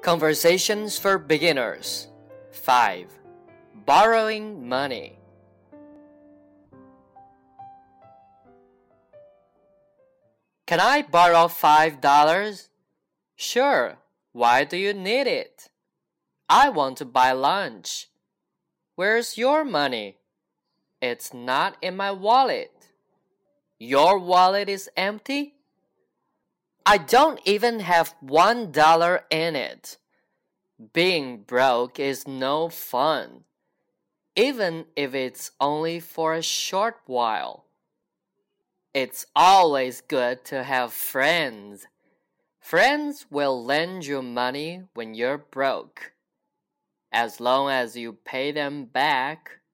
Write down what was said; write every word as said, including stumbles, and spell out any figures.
Conversations for Beginners. five. Borrowing money. Can I borrow five dollars? Sure. Why do you need it? I want to buy lunch. Where's your money? It's not in my wallet. Your wallet is empty? I don't even have one dollar in it. Being broke is no fun, even if it's only for a short while. It's always good to have friends. Friends will lend you money when you're broke. As long as you pay them back,